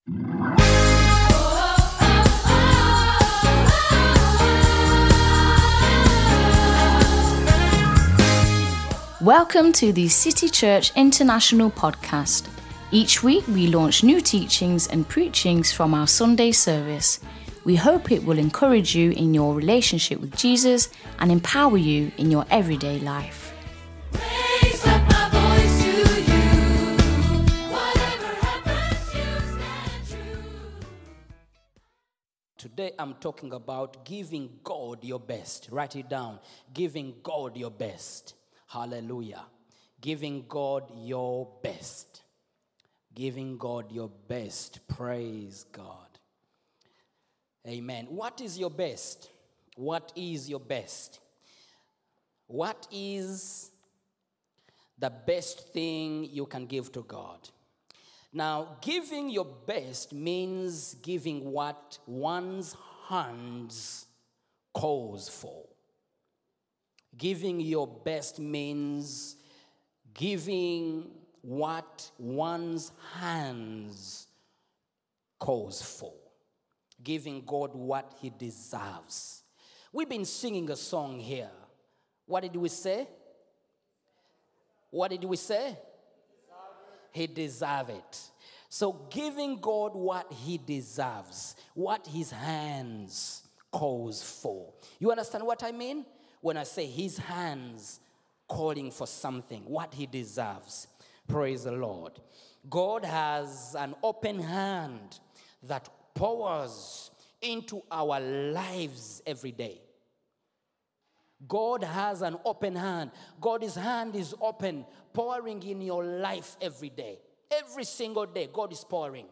Welcome to the City Church International podcast. Each week we launch new teachings and preachings from our Sunday service. We hope it will encourage you in your relationship with Jesus and empower you in your everyday life. Raise up my voice to you. Whatever happens, you stand true. Today I'm talking about giving God your best. Write it down. Giving God your best. Hallelujah. Giving God your best. Giving God your best. Praise God. Amen. What is your best? What is your best? What is the best thing you can give to God? Now, giving your best means giving what one's hands calls for. Giving your best means giving what one's hands calls for. Giving God what he deserves. We've been singing a song here. What did we say? What did we say? He deserves it. So giving God what he deserves, what his hands calls for. You understand what I mean? When I say his hands calling for something, what he deserves. Praise the Lord. God has an open hand that pours into our lives every day. God has an open hand. God's hand is open, pouring in your life every day. Every single day, God is pouring.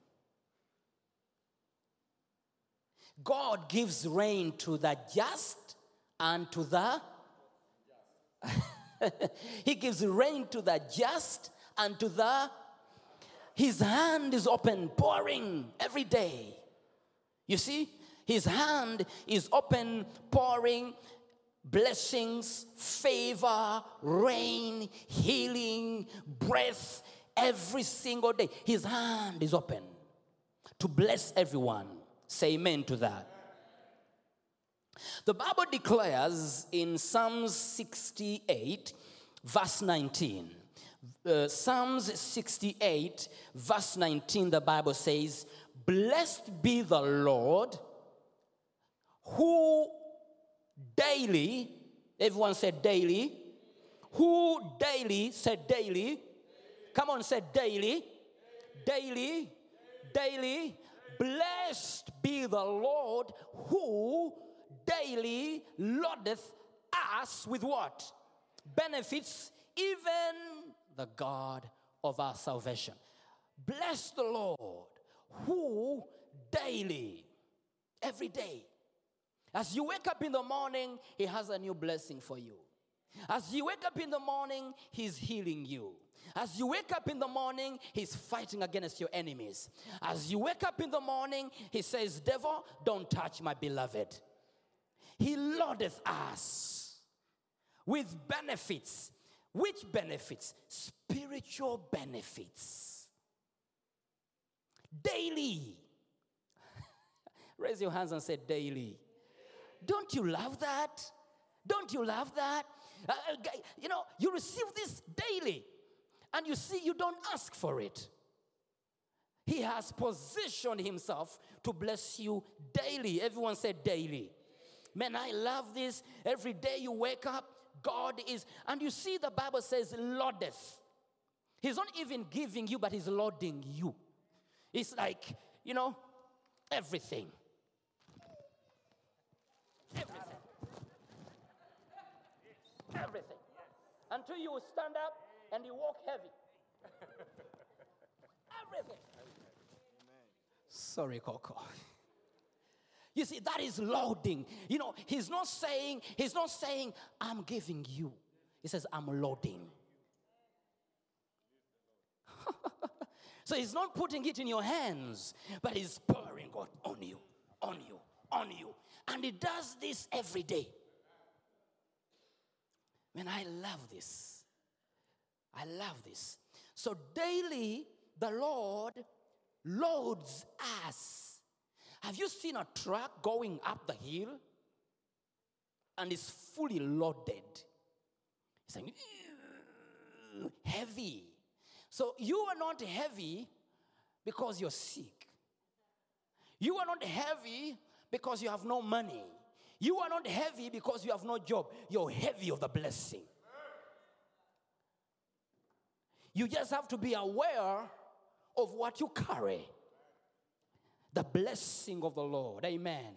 God gives rain to the just and to the he gives rain to the just and to the his hand is open, pouring every day. You see, his hand is open, pouring blessings, favor, rain, healing, breath every single day. His hand is open to bless everyone. Say amen to that. The Bible declares in Psalms 68, verse 19. Psalms 68, verse 19, the Bible says, "Blessed be the Lord, who daily," everyone said daily, who daily, said daily, come on, said daily, daily, daily, blessed be the Lord, who daily loadeth us with what? Benefits, even the God of our salvation. Bless the Lord, who daily, every day, as you wake up in the morning, he has a new blessing for you. As you wake up in the morning, he's healing you. As you wake up in the morning, he's fighting against your enemies. As you wake up in the morning, he says, "Devil, don't touch my beloved." He loadeth us with benefits. Which benefits? Spiritual benefits. Daily. Raise your hands and say daily. Don't you love that? Don't you love that? You receive this daily. And you see, you don't ask for it. He has positioned himself to bless you daily. Everyone said daily. Man, I love this. Every day you wake up, God is, and you see the Bible says loadeth. He's not even giving you, but he's loading you. It's like, everything. Everything. Everything. Until you stand up and you walk heavy. Everything. Sorry, Coco. You see, that is loading. He's not saying, I'm giving you. He says, I'm loading. So he's not putting it in your hands, but he's pouring God on you, on you, on you. And he does this every day. Man, I love this. I love this. So daily, the Lord loads us. Have you seen a truck going up the hill and it's fully loaded? It's like heavy. So you are not heavy because you're sick. You are not heavy because you have no money. You are not heavy because you have no job. You're heavy of the blessing. You just have to be aware of what you carry. The blessing of the Lord. Amen.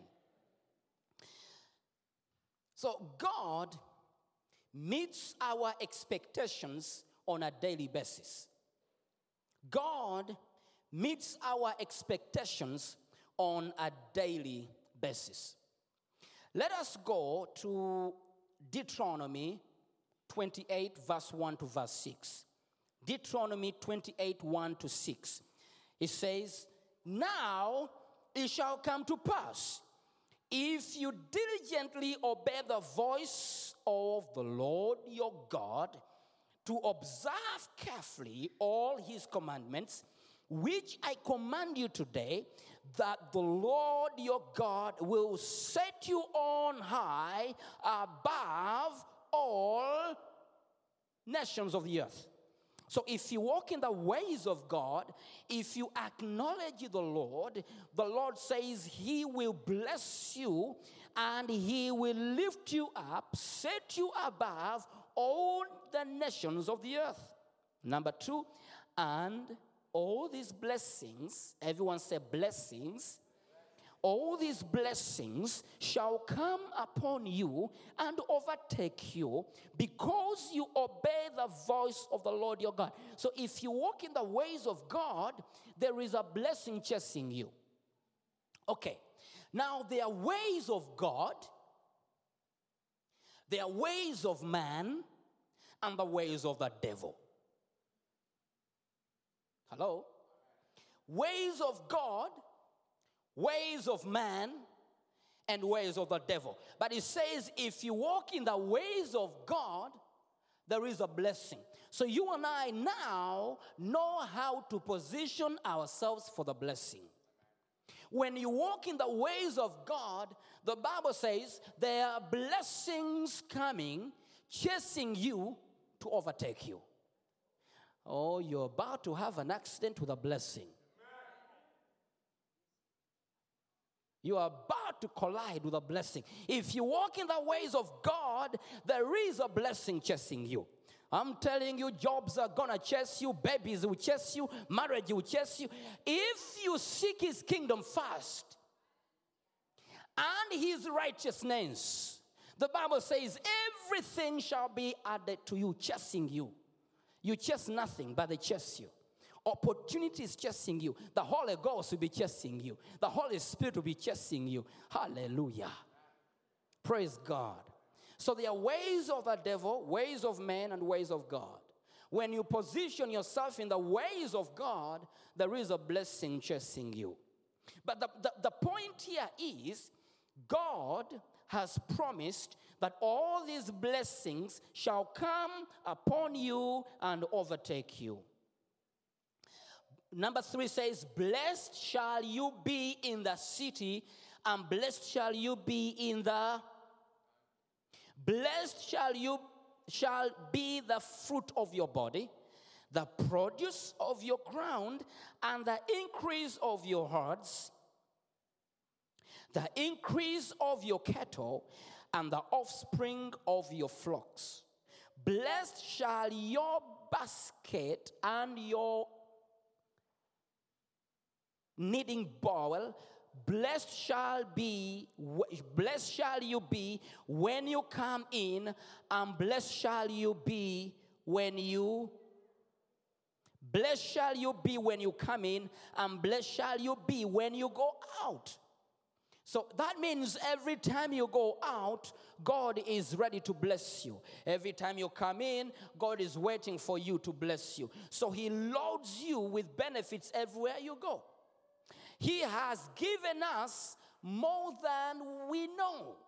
So God meets our expectations on a daily basis. God meets our expectations on a daily basis. Let us go to Deuteronomy 28, verse 1 to verse 6. Deuteronomy 28, 1 to 6. It says, now it shall come to pass, if you diligently obey the voice of the Lord your God, to observe carefully all his commandments, which I command you today, that the Lord your God will set you on high above all nations of the earth. So if you walk in the ways of God, if you acknowledge the Lord says he will bless you and he will lift you up, set you above all the nations of the earth. Number 2, and all these blessings, everyone say blessings, all these blessings shall come upon you and overtake you because you obey the voice of the Lord your God. So if you walk in the ways of God, there is a blessing chasing you. Okay, now there are ways of God, there are ways of man, and the ways of the devil. Hello? Ways of God, ways of man, and ways of the devil. But it says if you walk in the ways of God, there is a blessing. So you and I now know how to position ourselves for the blessing. When you walk in the ways of God, the Bible says there are blessings coming, chasing you to overtake you. Oh, you're about to have an accident with a blessing. You are about to collide with a blessing. If you walk in the ways of God, there is a blessing chasing you. I'm telling you, jobs are going to chase you, babies will chase you, marriage will chase you. If you seek his kingdom first and his righteousness, the Bible says everything shall be added to you, chasing you. You chase nothing, but they chase you. Opportunity is chasing you. The Holy Ghost will be chasing you. The Holy Spirit will be chasing you. Hallelujah. Praise God. So there are ways of the devil, ways of man, and ways of God. When you position yourself in the ways of God, there is a blessing chasing you. But the point here is, God has promised that all these blessings shall come upon you and overtake you. Number 3 says, blessed shall you be in the city, and blessed shall you be in the... Blessed shall be the fruit of your body, the produce of your ground, and the increase of your herds, the increase of your cattle, and the offspring of your flocks. Blessed shall your basket and your kneading bowl. Blessed shall you be when you come in, and blessed shall you be when you... Blessed shall you be when you come in, and blessed shall you be when you go out. So that means every time you go out, God is ready to bless you. Every time you come in, God is waiting for you to bless you. So he loads you with benefits everywhere you go. He has given us more than we know.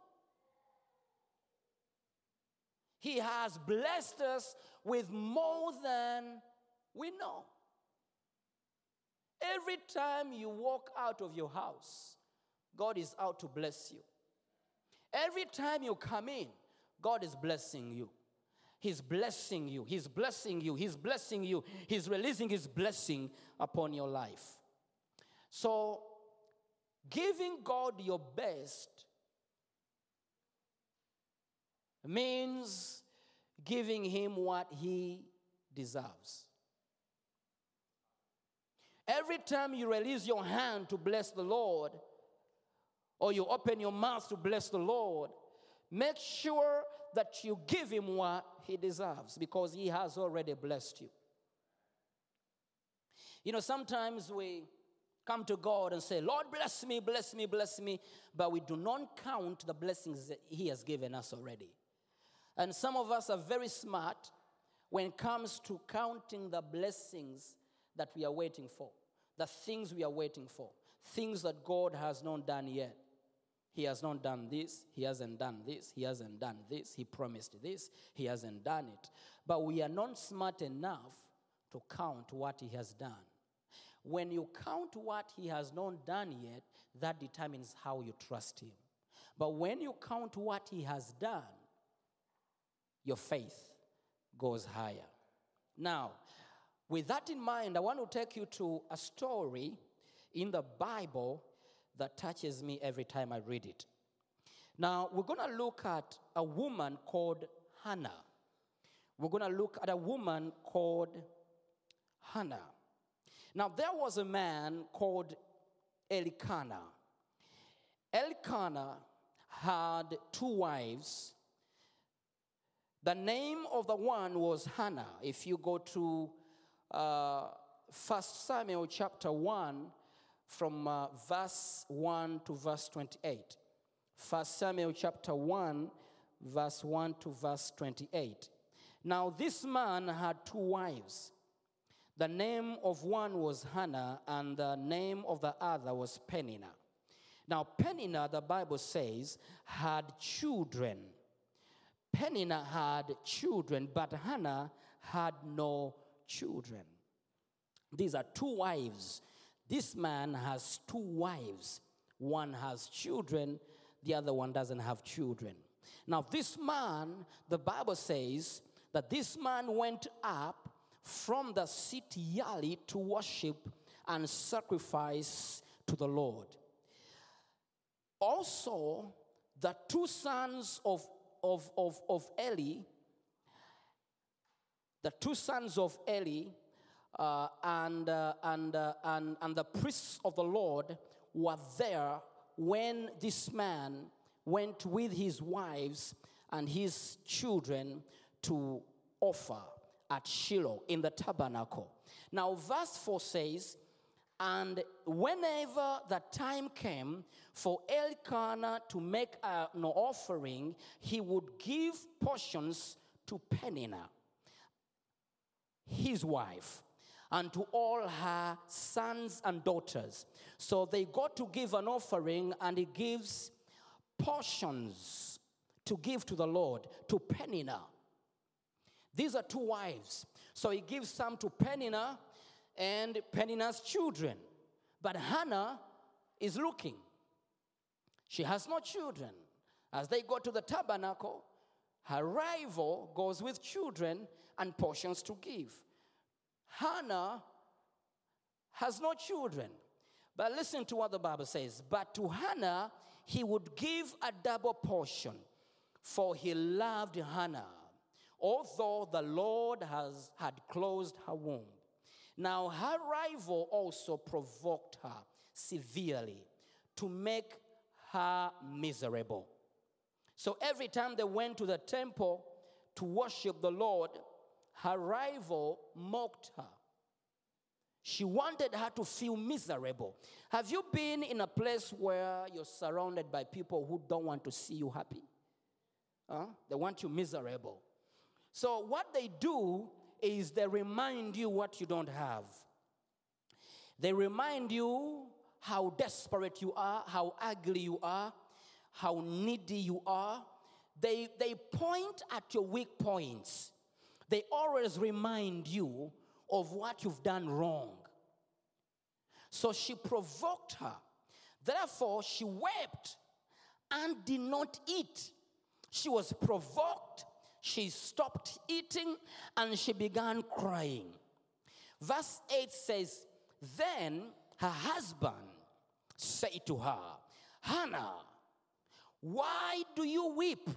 He has blessed us with more than we know. Every time you walk out of your house, God is out to bless you. Every time you come in, God is blessing you. He's blessing you. He's blessing you. He's blessing you. He's releasing His blessing upon your life. So, giving God your best means giving Him what He deserves. Every time you release your hand to bless the Lord, or you open your mouth to bless the Lord, make sure that you give Him what He deserves, because He has already blessed you. You know, sometimes we come to God and say, Lord, bless me, bless me, bless me, but we do not count the blessings that He has given us already. And some of us are very smart when it comes to counting the blessings that we are waiting for, the things we are waiting for, things that God has not done yet. He has not done this, He hasn't done this, He hasn't done this, He promised this, He hasn't done it. But we are not smart enough to count what He has done. When you count what He has not done yet, that determines how you trust Him. But when you count what He has done, your faith goes higher. Now, with that in mind, I want to take you to a story in the Bible that touches me every time I read it. Now, we're going to look at a woman called Hannah. We're going to look at a woman called Hannah. Now, there was a man called Elkanah. Elkanah had 2 wives. The name of the one was Hannah. If you go to 1 Samuel chapter 1, from verse 1 to verse 28. 1 Samuel chapter 1, verse 1 to verse 28. Now this man had 2 wives. The name of one was Hannah, and the name of the other was Peninnah. Now Peninnah, the Bible says, had children. Peninnah had children, but Hannah had no children. These are 2 wives. This man has 2 wives. One has children, the other one doesn't have children. Now this man, the Bible says that this man went up from the city early to worship and sacrifice to the Lord. Also, the 2 sons of Eli, the 2 sons of Eli, and the priests of the Lord were there when this man went with his wives and his children to offer at Shiloh in the tabernacle. Now verse 4 says, and whenever the time came for Elkanah to make an offering, he would give portions to Peninnah, his wife, and to all her sons and daughters. So they got to give an offering, and he gives portions to give to the Lord, to Peninnah. These are 2 wives. So he gives some to Peninnah and Peninnah's children. But Hannah is looking. She has no children. As they go to the tabernacle, her rival goes with children and portions to give. Hannah has no children. But listen to what the Bible says. But to Hannah, he would give a double portion, for he loved Hannah, although the Lord had closed her womb. Now her rival also provoked her severely to make her miserable. So every time they went to the temple to worship the Lord, her rival mocked her. She wanted her to feel miserable. Have you been in a place where you're surrounded by people who don't want to see you happy? They want you miserable. So what they do is they remind you what you don't have. They remind you how desperate you are, how ugly you are, how needy you are. They point at your weak points. They always remind you of what you've done wrong. So she provoked her. Therefore, she wept and did not eat. She was provoked. She stopped eating and she began crying. Verse 8 says, then her husband said to her, Hannah, why do you weep?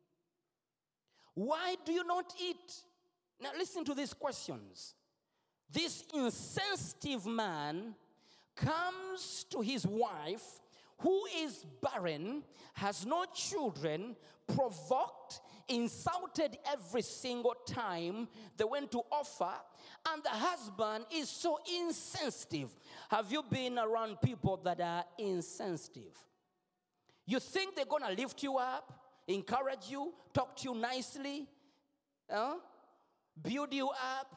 Why do you not eat? Now listen to these questions. This insensitive man comes to his wife who is barren, has no children, provoked, insulted every single time they went to offer, and the husband is so insensitive. Have you been around people that are insensitive? You think they're going to lift you up, encourage you, talk to you nicely, build you up,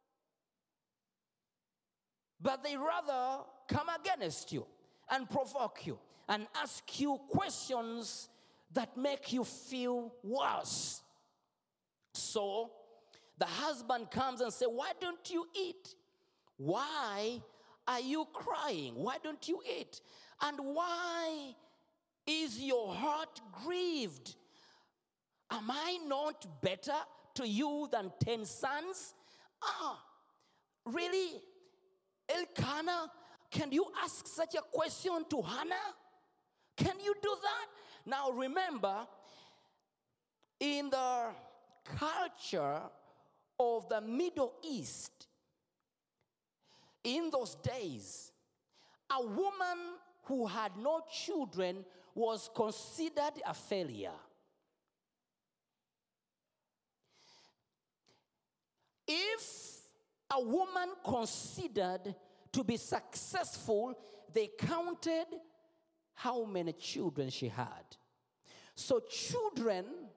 but they rather come against you and provoke you and ask you questions that make you feel worse. So the husband comes and says, why don't you eat? Why are you crying? Why don't you eat? And why is your heart grieved? Am I not better to you than 10 sons? Really? Elkanah, can you ask such a question to Hannah? Can you do that? Now remember, in the culture of the Middle East, in those days, a woman who had no children was considered a failure. If a woman considered to be successful, they counted how many children she had. So children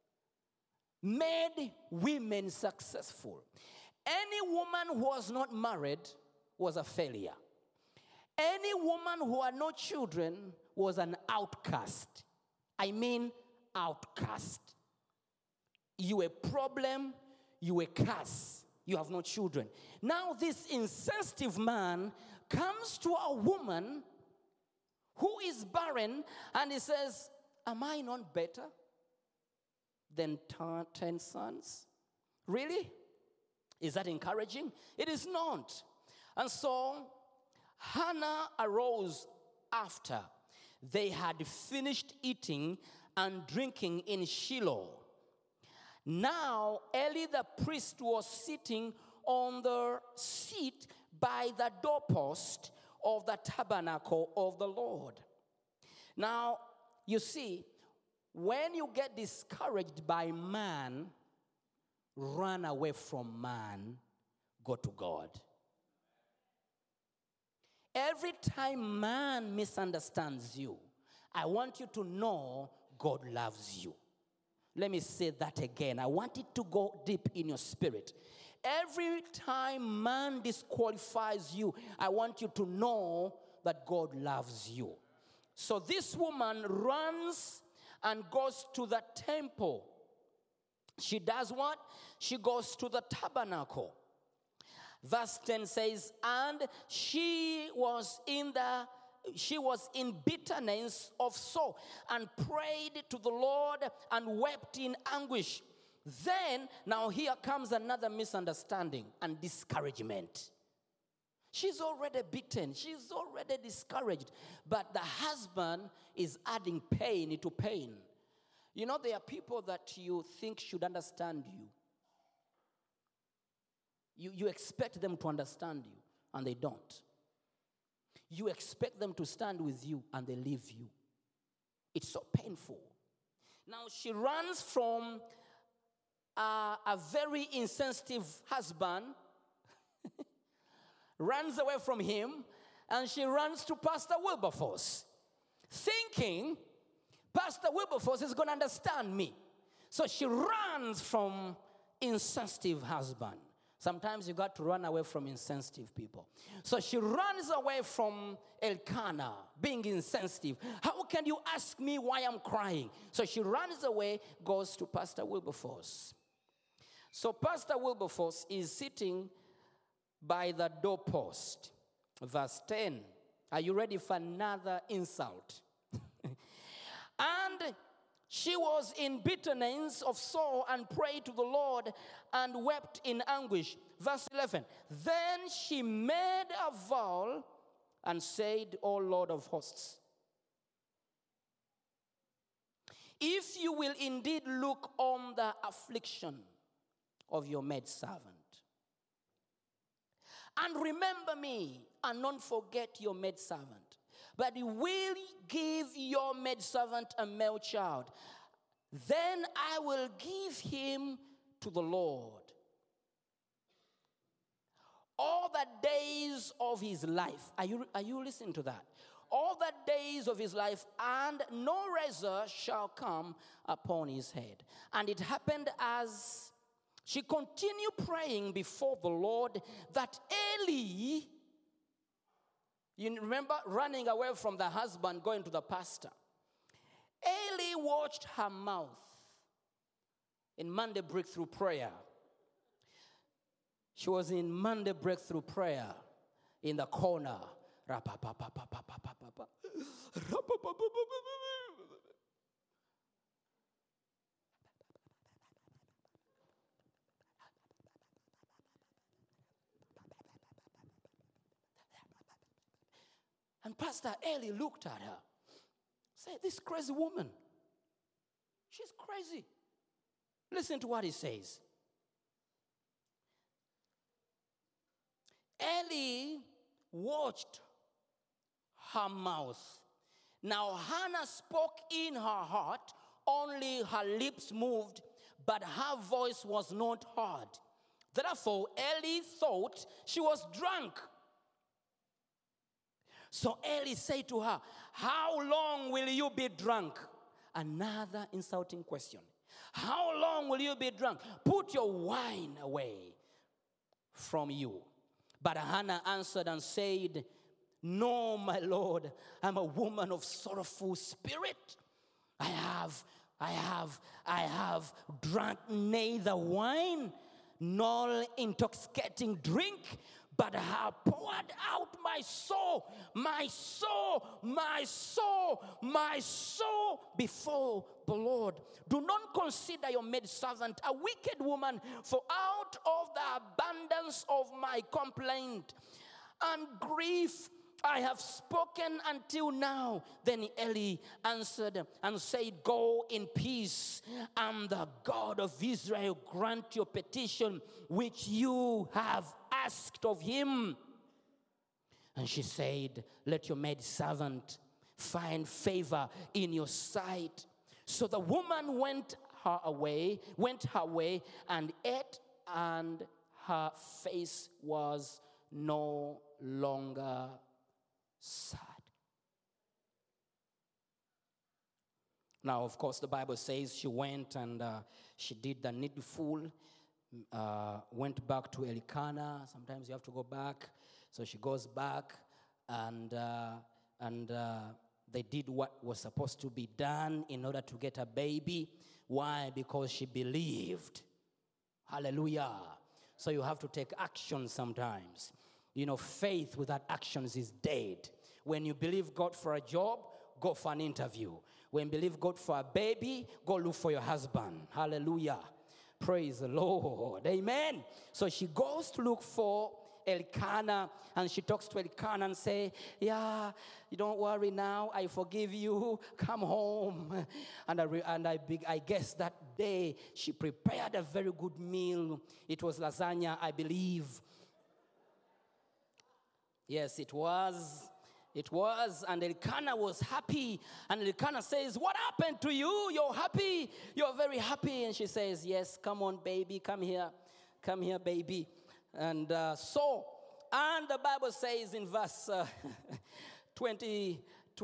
made women successful. Any woman who was not married was a failure. Any woman who had no children was an outcast. I mean outcast. You a problem, you a curse. You have no children. Now this insensitive man comes to a woman who is barren and he says, am I not better than 10 sons? Really? Is that encouraging? It is not. And so Hannah arose after they had finished eating and drinking in Shiloh. Now Eli the priest was sitting on the seat by the doorpost of the tabernacle of the Lord. Now, you see, when you get discouraged by man, run away from man, go to God. Every time man misunderstands you, I want you to know God loves you. Let me say that again. I want it to go deep in your spirit. Every time man disqualifies you, I want you to know that God loves you. So this woman runs and goes to the temple. She does what? She goes to the tabernacle. Verse 10 says, and she was in bitterness of soul and prayed to the Lord and wept in anguish. Then, now here comes another misunderstanding and discouragement. She's already beaten. She's already discouraged. But the husband is adding pain to pain. You know, there are people that you think should understand you. You expect them to understand you, and they don't. You expect them to stand with you, and they leave you. It's so painful. Now, she runs from a very insensitive husband, runs away from him, and she runs to Pastor Wilberforce, thinking Pastor Wilberforce is going to understand me. So she runs from insensitive husband. Sometimes you got to run away from insensitive people. So she runs away from Elkanah, being insensitive. How can you ask me why I'm crying? So she runs away, goes to Pastor Wilberforce. So Pastor Wilberforce is sitting by the doorpost. Verse 10. Are you ready for another insult? And she was in bitterness of soul and prayed to the Lord and wept in anguish. Verse 11. Then she made a vow and said, O Lord of hosts, if you will indeed look on the affliction of your maidservant, and remember me, and not forget your maidservant, but you will give your maidservant a male child, then I will give him to the Lord all the days of his life. Are you listening to that? All the days of his life, and no razor shall come upon his head. And it happened as she continued praying before the Lord that Eli, you remember running away from the husband, going to the pastor. Eli watched her mouth in Monday Breakthrough Prayer. She was in Monday Breakthrough Prayer in the corner. And Pastor Eli looked at her, said, this crazy woman, she's crazy. Listen to what he says. Eli watched her mouth. Now Hannah spoke in her heart, only her lips moved, but her voice was not heard. Therefore, Eli thought she was drunk. So Eli said to her, how long will you be drunk? Another insulting question. How long will you be drunk? Put your wine away from you. But Hannah answered and said, no, my Lord, I'm a woman of sorrowful spirit. I have drunk neither wine nor intoxicating drink, but I have poured out my soul before the Lord. Do not consider your maidservant a wicked woman, for out of the abundance of my complaint and grief I have spoken until now. Then Eli answered and said, go in peace, and the God of Israel grant your petition which you have asked of him. And she said, let your maidservant find favor in your sight. So the woman went her way and ate, and her face was no longer sad. Now, of course, the Bible says she went and she did the needful, went back to Elkanah. Sometimes you have to go back. So she goes back and they did what was supposed to be done in order to get a baby. Why? Because she believed. Hallelujah. So you have to take action sometimes. You know, faith without actions is dead. When you believe God for a job, go for an interview. When you believe God for a baby, go look for your husband. Hallelujah. Praise the Lord. Amen. So she goes to look for Elkanah, and she talks to Elkanah and say, yeah, you don't worry now, I forgive you, come home. And I guess that day she prepared a very good meal. It was lasagna, I believe. Yes, it was. It was. And Elkanah was happy. And Elkanah says, what happened to you? You're happy? You're very happy. And she says, yes, come on, baby. Come here. Come here, baby. And and the Bible says in verse 20,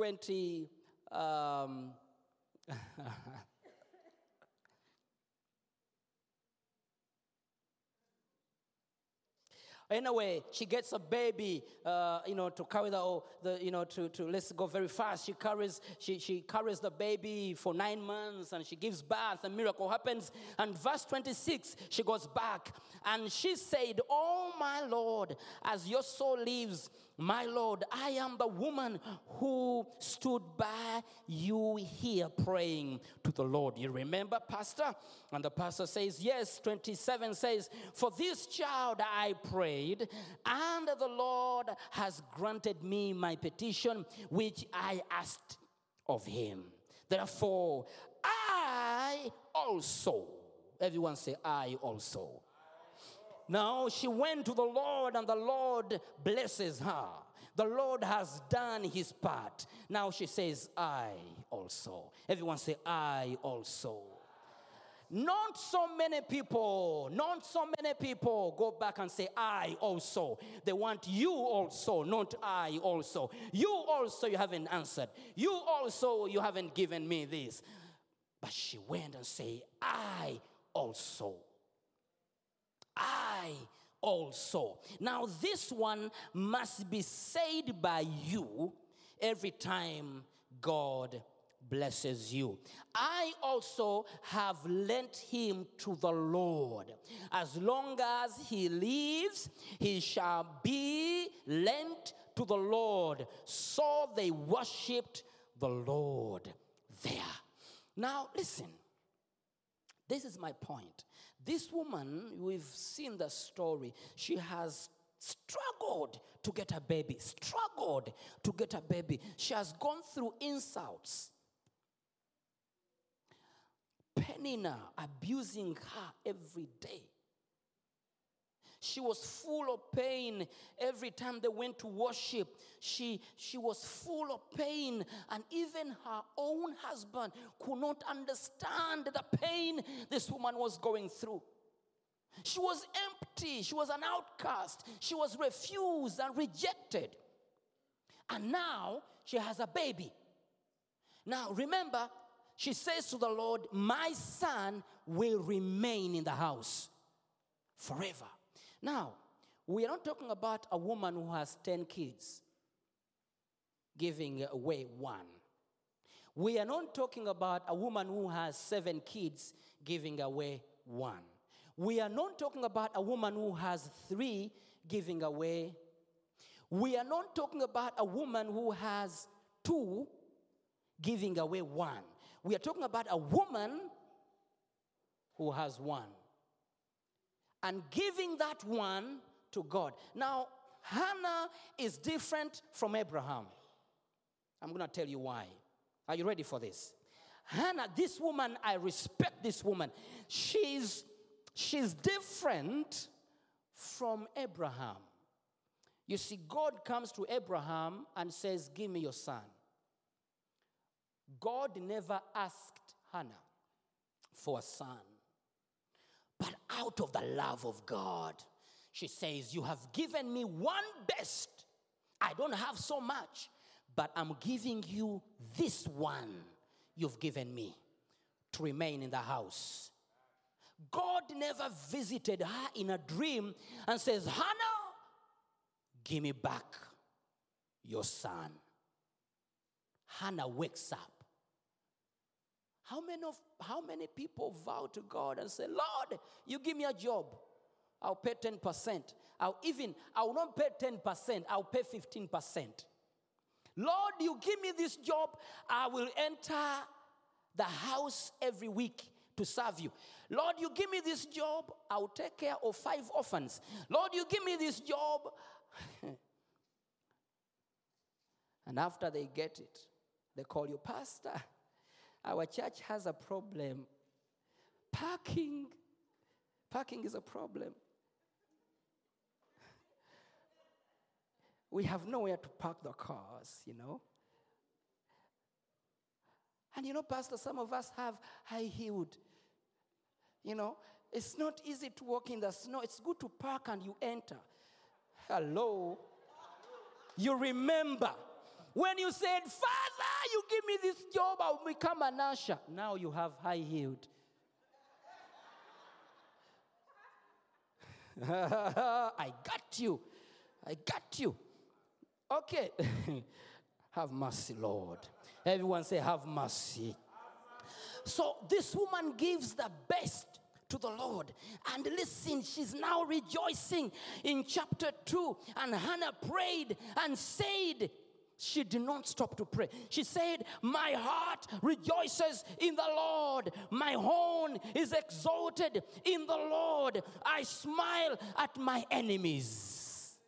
anyway, she gets a baby, to carry to let's go very fast. She carries the baby for 9 months, and she gives birth. A miracle happens. And verse 26, she goes back, and she said, "Oh my Lord, as your soul lives, My Lord, I am the woman who stood by you here praying to the Lord. You remember, Pastor? And the pastor says, yes. 27 says, for this child I prayed, and the Lord has granted me my petition, which I asked of him. Therefore, I also, everyone say, I also. Now she went to the Lord, and the Lord blesses her. The Lord has done his part. Now she says, I also. Everyone say, I also. Not so many people go back and say, I also. They want you also, not I also. You also, you haven't answered. You also, you haven't given me this. But she went and said, I also. I also. Now, this one must be said by you every time God blesses you. I also have lent him to the Lord. As long as he lives, he shall be lent to the Lord. So they worshipped the Lord there. Now, listen. This is my point. This woman, we've seen the story. She has struggled to get a baby. She has gone through insults. Penina abusing her every day. She was full of pain every time they went to worship. She was full of pain, and even her own husband could not understand the pain this woman was going through. She was empty. She was an outcast. She was refused and rejected. And now she has a baby. Now remember, she says to the Lord, my son will remain in the house forever. Now, we are not talking about a woman who has 10 kids giving away one. We are not talking about a woman who has 7 kids giving away one. We are not talking about a woman who has 3 giving away. We are not talking about a woman who has 2 giving away 1. We are talking about a woman who has 1 and giving that one to God. Now, Hannah is different from Abraham. I'm going to tell you why. Are you ready for this? Hannah, this woman, I respect this woman. She's different from Abraham. You see, God comes to Abraham and says, give me your son. God never asked Hannah for a son. But out of the love of God, she says, you have given me one best. I don't have so much, but I'm giving you this one you've given me to remain in the house. God never visited her in a dream and says, Hannah, give me back your son. Hannah wakes up. How many people vow to God and say, Lord, you give me a job, I'll pay 10%. I will not pay 10%, I'll pay 15%. Lord, you give me this job, I will enter the house every week to serve you. Lord, you give me this job, I'll take care of 5 orphans. Lord, you give me this job. And after they get it, they call you, Pastor, our church has a problem. Parking is a problem. We have nowhere to park the cars, you know. And you know, Pastor, some of us have high-heeled. You know, it's not easy to walk in the snow. It's good to park and you enter. Hello. You remember when you said, Father, you give me this job, I'll become an usher. Now you have high-heeled. I got you. Okay. Have mercy, Lord. Everyone say, have mercy. So this woman gives the best to the Lord. And listen, she's now rejoicing in chapter 2. And Hannah prayed and said, she did not stop to pray. She said, my heart rejoices in the Lord. My horn is exalted in the Lord. I smile at my enemies.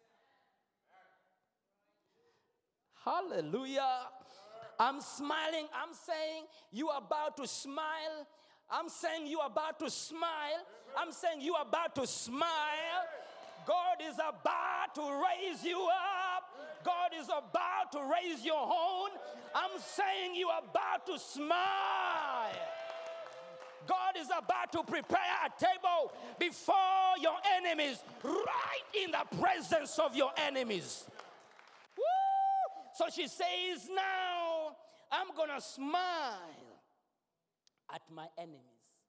Hallelujah. I'm smiling. I'm saying you are about to smile. I'm saying you are about to smile. I'm saying you are about to smile. God is about to raise you up. God is about to raise your horn. I'm saying you are about to smile. God is about to prepare a table before your enemies, right in the presence of your enemies. Woo! So she says, now I'm going to smile at my enemies.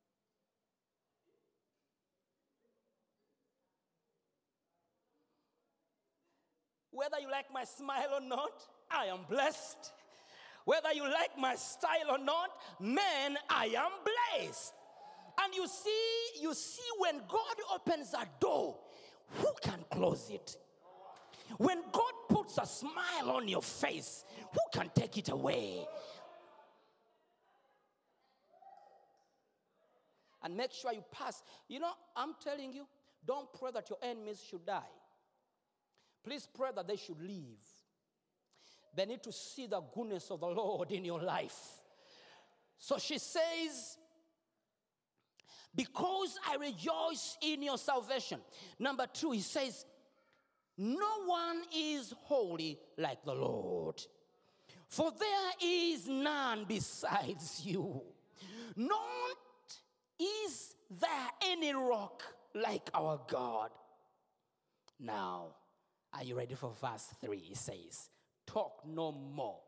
Whether you like my smile or not, I am blessed. Whether you like my style or not, man, I am blessed. And you see when God opens a door, who can close it? When God puts a smile on your face, who can take it away? And make sure you pass. You know, I'm telling you, don't pray that your enemies should die. Please pray that they should live. They need to see the goodness of the Lord in your life. So she says, because I rejoice in your salvation. Number 2, he says, no one is holy like the Lord, for there is none besides you. Not is there any rock like our God. Now, are you ready for verse 3? It says, talk no more.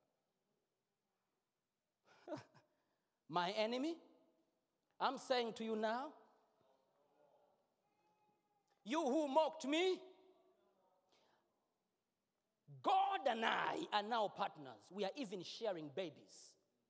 My enemy, I'm saying to you now, you who mocked me, God and I are now partners. We are even sharing babies.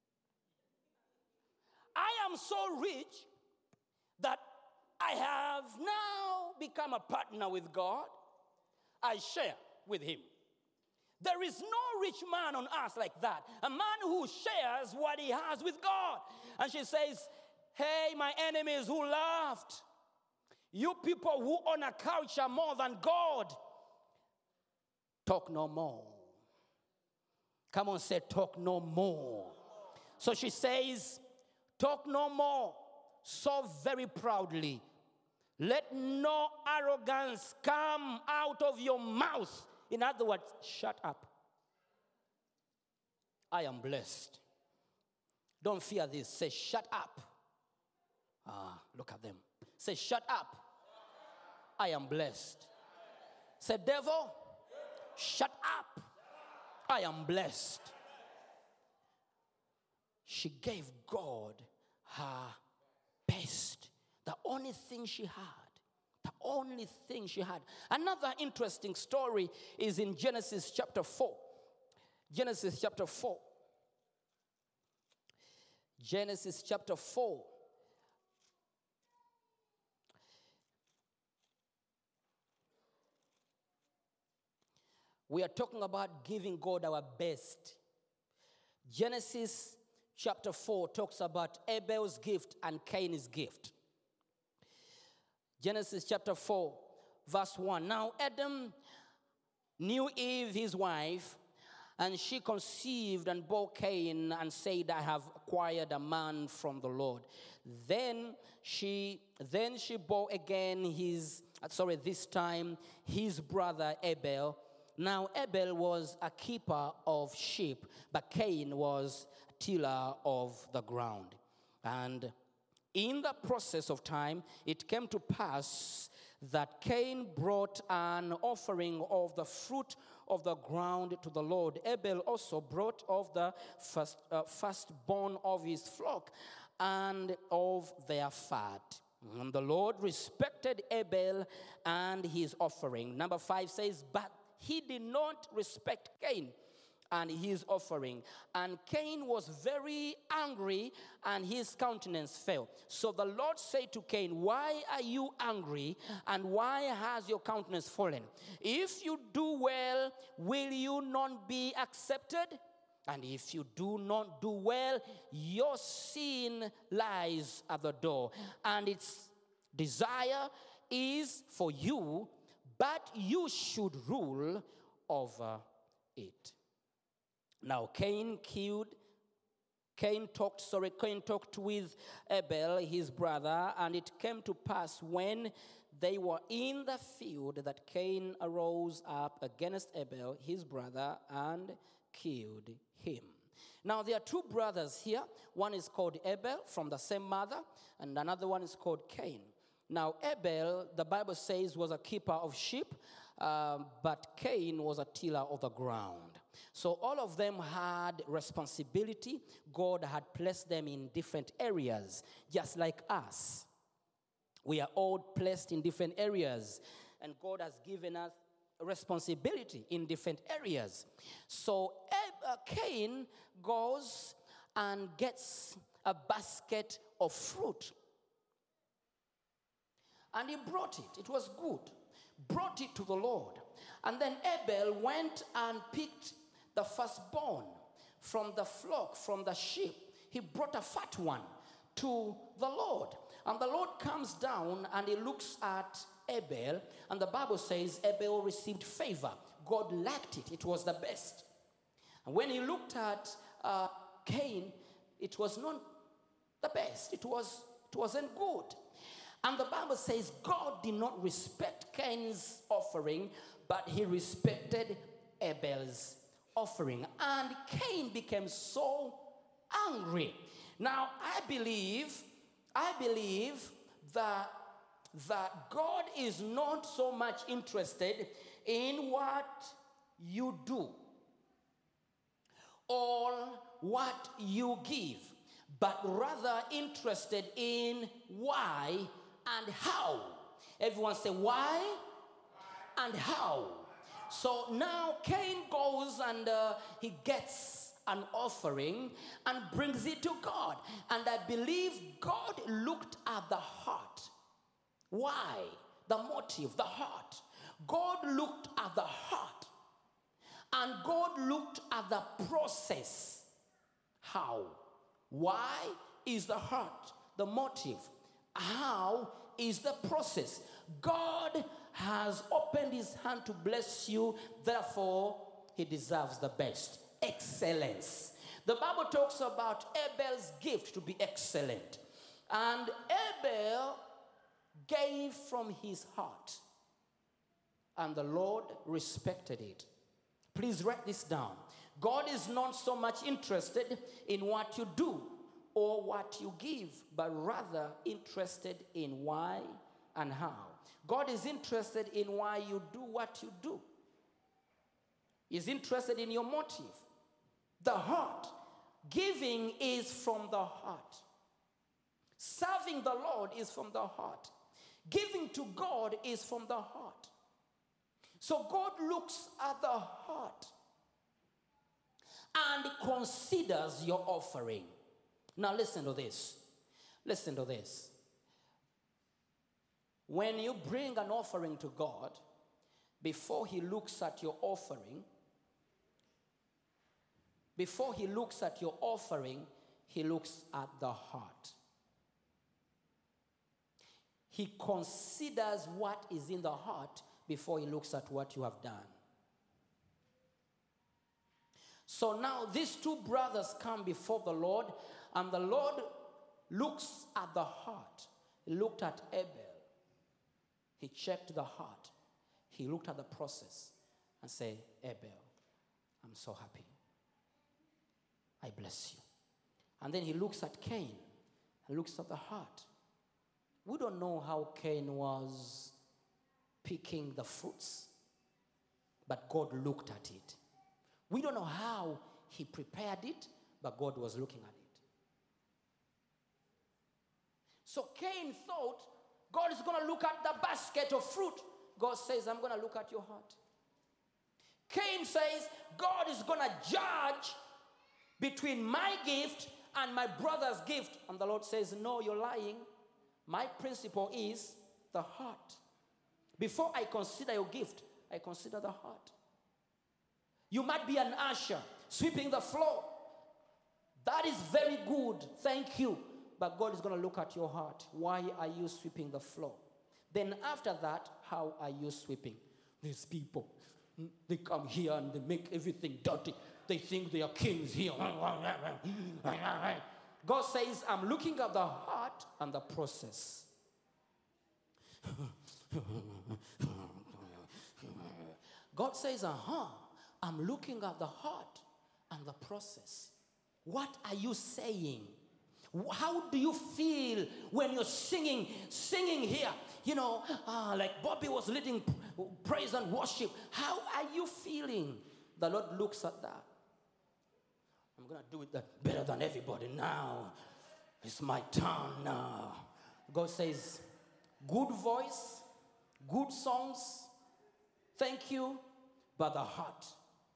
I am so rich that I have now become a partner with God. I share with him. There is no rich man on earth like that. A man who shares what he has with God. And she says, hey, my enemies who laughed, you people who own a culture more than God, talk no more. Come on, say talk no more. So she says, talk no more, so very proudly. Let no arrogance come out of your mouth. In other words, shut up. I am blessed. Don't fear this. Say, shut up. Look at them. Say, shut up. I am blessed. Say, devil, shut up. I am blessed. She gave God her best. The only thing she had. The only thing she had. Another interesting story is in Genesis chapter 4. Genesis chapter 4. Genesis chapter 4. We are talking about giving God our best. Genesis chapter 4 talks about Abel's gift and Cain's gift. Genesis chapter 4, verse 1. Now Adam knew Eve, his wife, and she conceived and bore Cain and said, I have acquired a man from the Lord. Then she bore again this time his brother Abel. Now Abel was a keeper of sheep, but Cain was a tiller of the ground. And in the process of time, it came to pass that Cain brought an offering of the fruit of the ground to the Lord. Abel also brought of the firstborn of his flock and of their fat. And the Lord respected Abel and his offering. Number 5 says, but he did not respect Cain and his offering. And Cain was very angry, and his countenance fell. So the Lord said to Cain, why are you angry, and why has your countenance fallen? If you do well, will you not be accepted? And if you do not do well, your sin lies at the door, and its desire is for you, but you should rule over it. Now Cain talked with Abel, his brother, and it came to pass when they were in the field that Cain arose up against Abel, his brother, and killed him. Now there are two brothers here. One is called Abel from the same mother, and another one is called Cain. Now Abel, the Bible says, was a keeper of sheep, but Cain was a tiller of the ground. So all of them had responsibility. God had placed them in different areas, just like us. We are all placed in different areas, and God has given us responsibility in different areas. So Cain goes and gets a basket of fruit. And he brought it. It was good. Brought it to the Lord. And then Abel went and picked the firstborn from the flock, from the sheep. He brought a fat one to the Lord. And the Lord comes down and he looks at Abel. And the Bible says Abel received favor. God liked it. It was the best. And when he looked at Cain, it was not the best. It wasn't good. And the Bible says God did not respect Cain's offering, but he respected Abel's offering. And Cain became so angry. Now, I believe that God is not so much interested in what you do or what you give, but rather interested in why and how. Everyone say why and how. So now Cain goes and he gets an offering and brings it to God. And I believe God looked at the heart. Why? The motive, the heart. God looked at the heart. And God looked at the process. How? Why is the heart, the motive? How is the process? God has opened his hand to bless you, therefore he deserves the best. Excellence. The Bible talks about Abel's gift to be excellent. And Abel gave from his heart, and the Lord respected it. Please write this down. God is not so much interested in what you do or what you give, but rather interested in why and how. God is interested in why you do what you do. He's interested in your motive. The heart. Giving is from the heart. Serving the Lord is from the heart. Giving to God is from the heart. So God looks at the heart and considers your offering. Now listen to this. Listen to this. When you bring an offering to God, before he looks at your offering, he looks at the heart. He considers what is in the heart before he looks at what you have done. So now these two brothers come before the Lord, and the Lord looks at the heart. He looked at Abel. He checked the heart. He looked at the process and said, Abel, I'm so happy. I bless you. And then he looks at Cain. He looks at the heart. We don't know how Cain was picking the fruits, but God looked at it. We don't know how he prepared it, but God was looking at it. So Cain thought, God is going to look at the basket of fruit. God says, I'm going to look at your heart. Cain says, God is going to judge between my gift and my brother's gift. And the Lord says, no, you're lying. My principle is the heart. Before I consider your gift, I consider the heart. You might be an usher, sweeping the floor. That is very good, thank you. But God is going to look at your heart. Why are you sweeping the floor? Then after that, how are you sweeping? These people, they come here and they make everything dirty. They think they are kings here. God says, I'm looking at the heart and the process. God says, I'm looking at the heart and the process. What are you saying? How do you feel when you're singing here? You know, like Bobby was leading praise and worship. How are you feeling? The Lord looks at that. I'm going to do it better than everybody now. It's my turn now. God says, good voice, good songs, thank you, but the heart.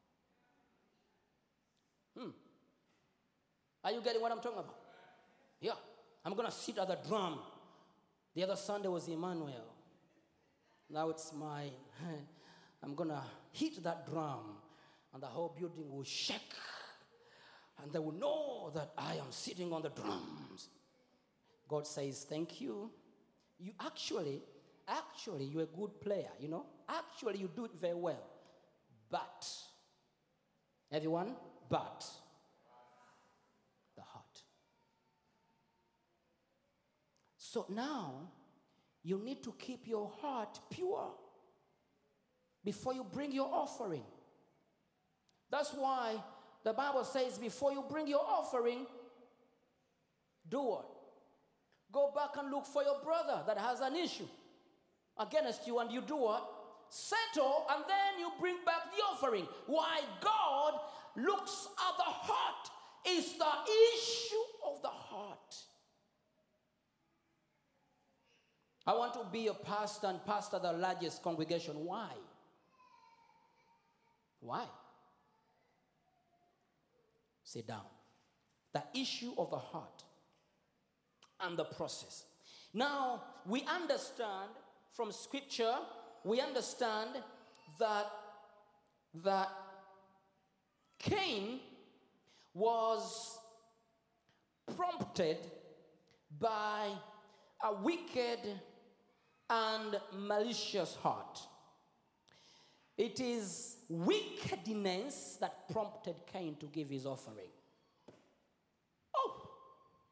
Are you getting what I'm talking about? Yeah. I'm going to sit at the drum. The other Sunday was Emmanuel. Now it's mine. I'm going to hit that drum, and the whole building will shake. And they will know that I am sitting on the drums. God says, thank you. You actually, you're a good player, you know. Actually, you do it very well. But, everyone, but the heart. So now, you need to keep your heart pure before you bring your offering. That's why the Bible says before you bring your offering, do what? Go back and look for your brother that has an issue against you, and you do what? Settle, and then you bring back the offering. Why? God looks at the heart. It's the issue of the heart. I want to be a pastor and pastor the largest congregation. Why? Why? Sit down. The issue of the heart and the process. Now, we understand from scripture, we understand that Cain was prompted by a wicked and malicious heart. It is wickedness that prompted Cain to give his offering. Oh,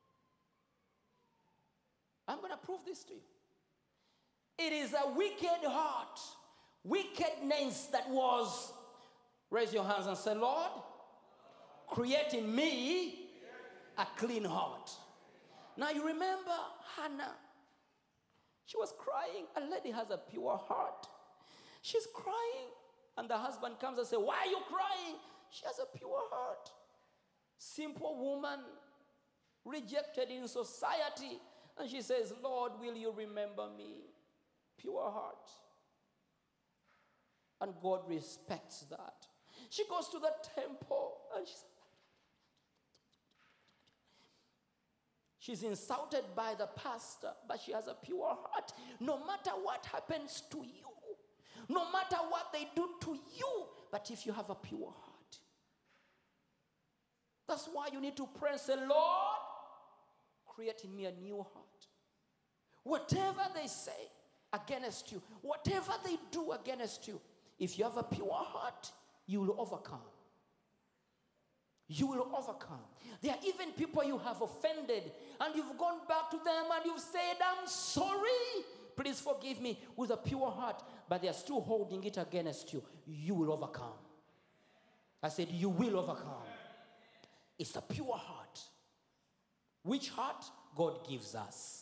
I'm going to prove this to you. It is a wicked heart, wickedness that was, raise your hands and say, Lord, create in me a clean heart. Now you remember Hannah. She was crying. A lady has a pure heart. She's crying. And the husband comes and says, why are you crying? She has a pure heart. Simple woman, rejected in society. And she says, Lord, will you remember me? Pure heart. And God respects that. She goes to the temple and she's insulted by the pastor, but she has a pure heart. No matter what happens to you, no matter what they do to you, but if you have a pure heart. That's why you need to pray and say, Lord, create in me a new heart. Whatever they say against you, whatever they do against you, if you have a pure heart, you will overcome. You will overcome. There are even people you have offended and you've gone back to them and you've said, I'm sorry. Please forgive me, with a pure heart. But they are still holding it against you. You will overcome. I said, you will overcome. It's a pure heart. Which heart? God gives us.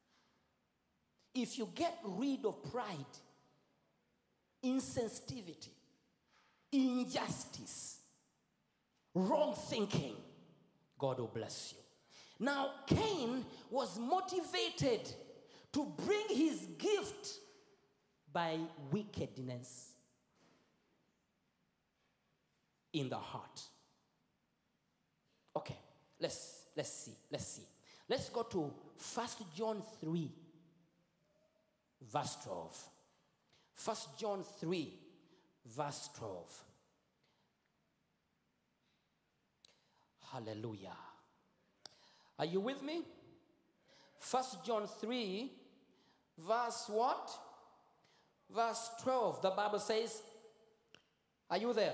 If you get rid of pride, insensitivity, injustice, wrong thinking, God will bless you. Now, Cain was motivated to bring his gift by wickedness. in the heart. Okay, let's see. Let's go to 1 John 3, verse 12. 1 John 3, verse 12. Hallelujah. Are you with me? 1 John 3, verse what? Verse 12. The Bible says, are you there?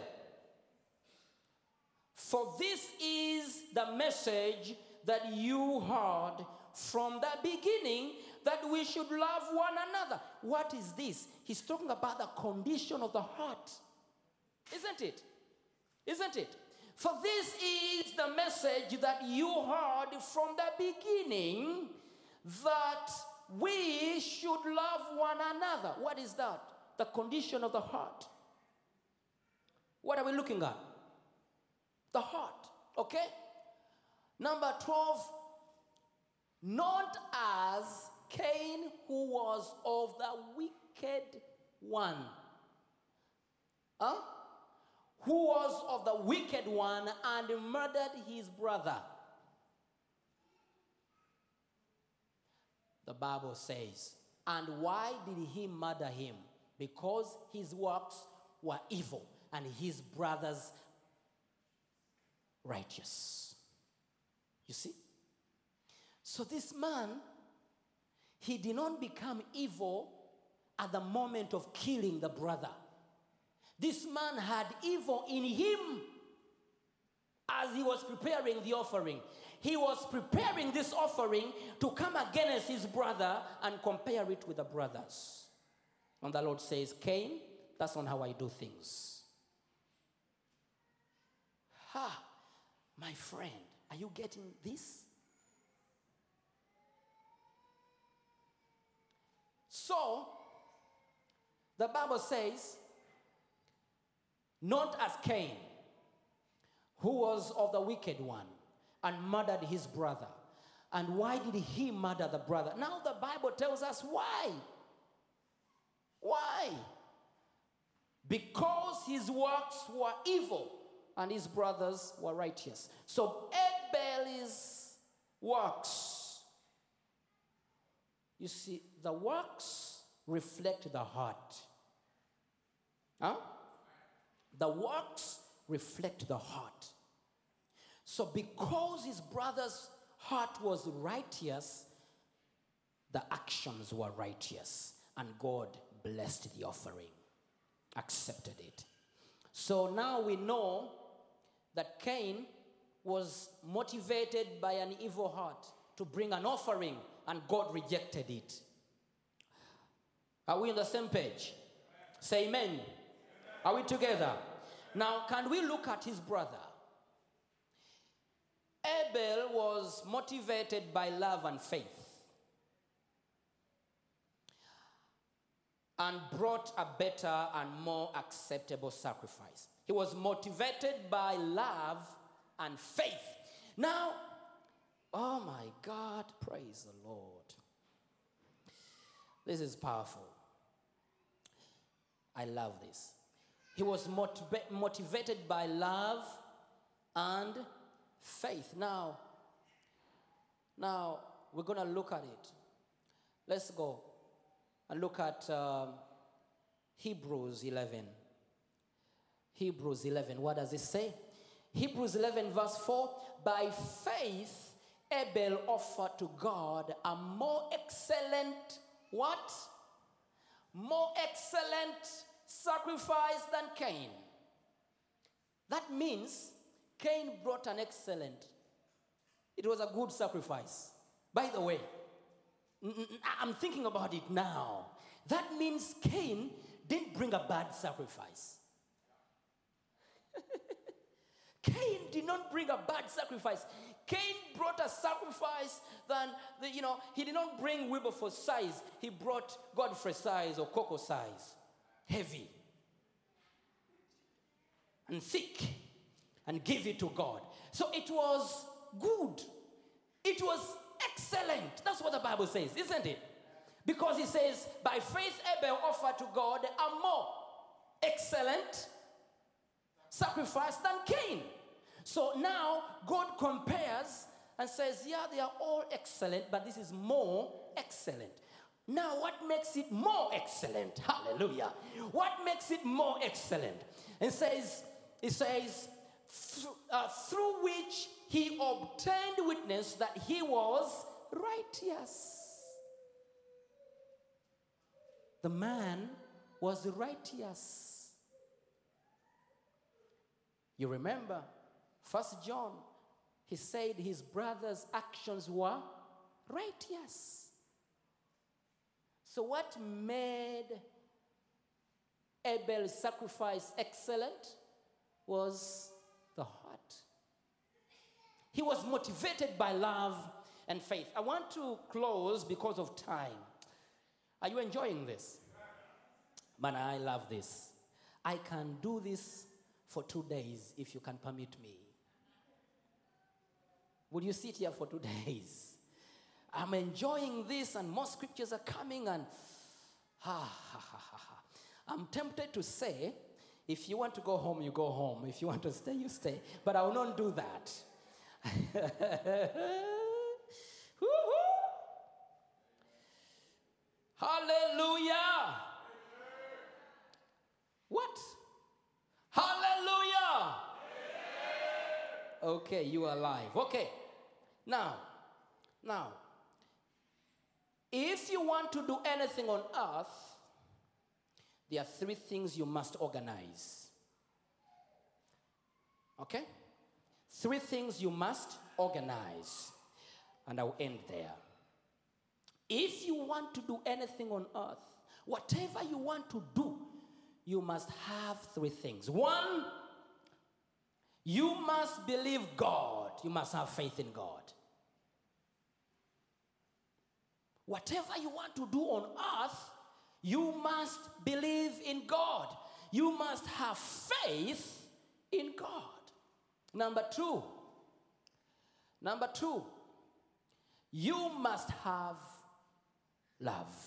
For this is the message that you heard from the beginning, that we should love one another. What is this? He's talking about the condition of the heart. Isn't it? Isn't it? For this is the message that you heard from the beginning, that we should love one another. What is that? The condition of the heart. What are we looking at? The heart. Okay? Number 12. Not as Cain, who was of the wicked one. Huh? Who was of the wicked one and murdered his brother. The Bible says, and why did he murder him? Because his works were evil and his brothers righteous. You see? So this man, he did not become evil at the moment of killing the brother. This man had evil in him as he was preparing the offering. He was preparing this offering to come against his brother and compare it with the brothers. And the Lord says, Cain, that's not how I do things. Ha, my friend, are you getting this? So, the Bible says, not as Cain, who was of the wicked one and murdered his brother. And why did he murder the brother? Now the Bible tells us why. Why? Because his works were evil and his brothers were righteous. So Abel's works, you see, the works reflect the heart. Huh? The works reflect the heart. So because his brother's heart was righteous, the actions were righteous. And God blessed the offering, accepted it. So now we know that Cain was motivated by an evil heart to bring an offering, and God rejected it. Are we on the same page? Say amen. Are we together? Now, can we look at his brother? Abel was motivated by love and faith and brought a better and more acceptable sacrifice. He was motivated by love and faith. Now, oh my God, praise the Lord. This is powerful. I love this. He was motivated by love and faith. Now we're going to look at it. Let's go and look at Hebrews 11. Hebrews 11, what does it say? Hebrews 11 verse 4, by faith Abel offered to God a more excellent, what? More excellent sacrifice than Cain. That means Cain brought an excellent. It was a good sacrifice. By the way, I'm thinking about it now. That means Cain didn't bring a bad sacrifice. Cain did not bring a bad sacrifice. Cain brought a sacrifice that, he did not bring Wilberforce size. He brought Godfrey size or Coco size. Heavy and thick, and give it to God. So it was good. It was excellent. That's what the Bible says, isn't it? Because it says, by faith Abel offered to God a more excellent sacrifice than Cain. So now God compares and says, yeah, they are all excellent, but this is more excellent. Now, what makes it more excellent? Hallelujah. What makes it more excellent? It says, through which he obtained witness that he was righteous. The man was righteous. You remember, 1 John, he said his brother's actions were righteous. So what made Abel's sacrifice excellent was the heart. He was motivated by love and faith. I want to close because of time. Are you enjoying this? Man, I love this. I can do this for 2 days if you can permit me. Would you sit here for 2 days? I'm enjoying this, and more scriptures are coming, and I'm tempted to say, if you want to go home, you go home. If you want to stay, you stay. But I will not do that. Hallelujah. What? Hallelujah. Okay, you are alive. Okay. Now, if you want to do anything on earth, there are 3 things you must organize. Okay? 3 things you must organize. And I'll end there. If you want to do anything on earth, whatever you want to do, you must have 3 things. 1, you must believe God. You must have faith in God. Whatever you want to do on earth, you must believe in God. You must have faith in God. Number two, you must have love.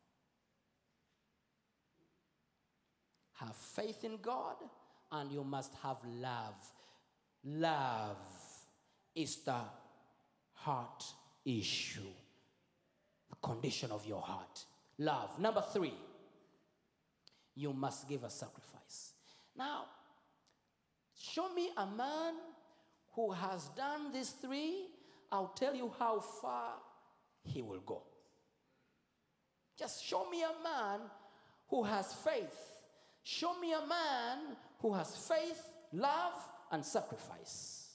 Have faith in God, and you must have love. Love is the heart issue, the condition of your heart. Love. Number 3, you must give a sacrifice. Now, show me a man who has done these 3. I'll tell you how far he will go. Just show me a man who has faith. Show me a man who has faith, love, and sacrifice.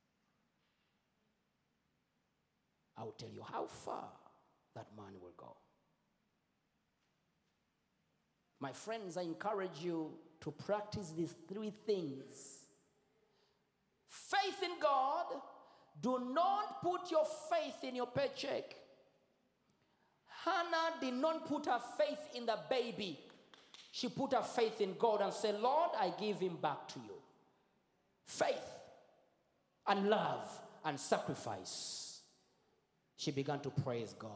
I will tell you how far that man will go. My friends, I encourage you to practice these 3 things. Faith in God. Do not put your faith in your paycheck. Hannah did not put her faith in the baby. She put her faith in God and said, Lord, I give him back to you. Faith and love and sacrifice. She began to praise God.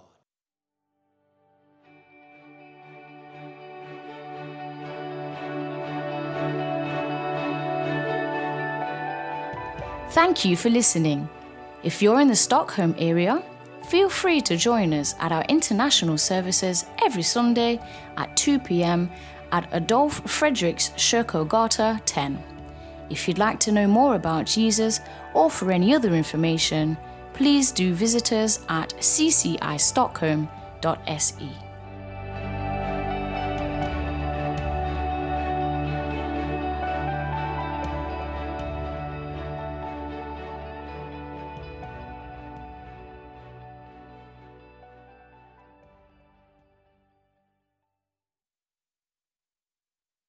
Thank you for listening. If you're in the Stockholm area, feel free to join us at our international services every Sunday at 2 p.m. at Adolf Fredriks Kyrkogata 10. If you'd like to know more about Jesus or for any other information, please do visit us at ccistockholm.se.